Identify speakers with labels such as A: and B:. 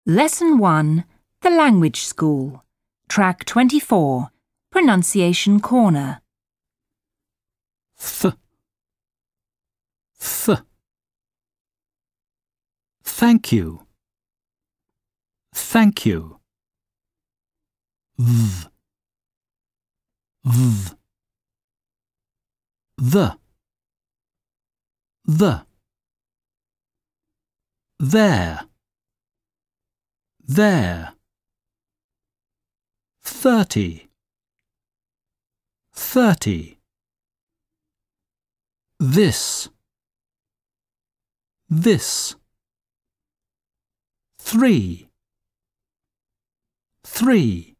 A: Lesson 1, The Language School, Track 24, Pronunciation Corner.
B: Th. Th. Thank you. Thank you. Th. Th. The. There. There. 30. 30. This. 3. 3.